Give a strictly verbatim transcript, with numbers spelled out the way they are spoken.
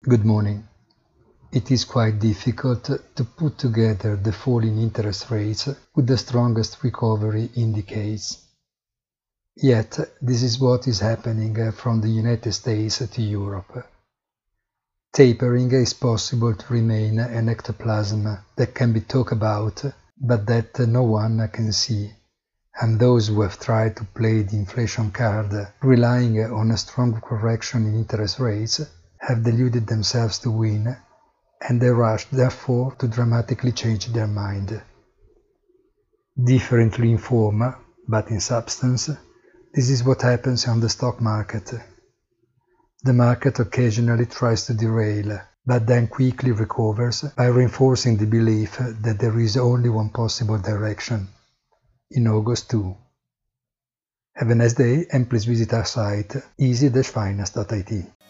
Good morning. It is quite difficult to put together the fall in interest rates with the strongest recovery in decades. Yet, this is what is happening from the United States to Europe. Tapering is possible to remain an ectoplasm that can be talked about, but that no one can see. And those who have tried to play the inflation card, relying on a strong correction in interest rates, have deluded themselves to win, and they rush therefore to dramatically change their mind. Differently in form, but in substance, this is what happens on the stock market. The market occasionally tries to derail, but then quickly recovers by reinforcing the belief that there is only one possible direction. In August too. Have a nice day and please visit our site easy dash finance dot I T.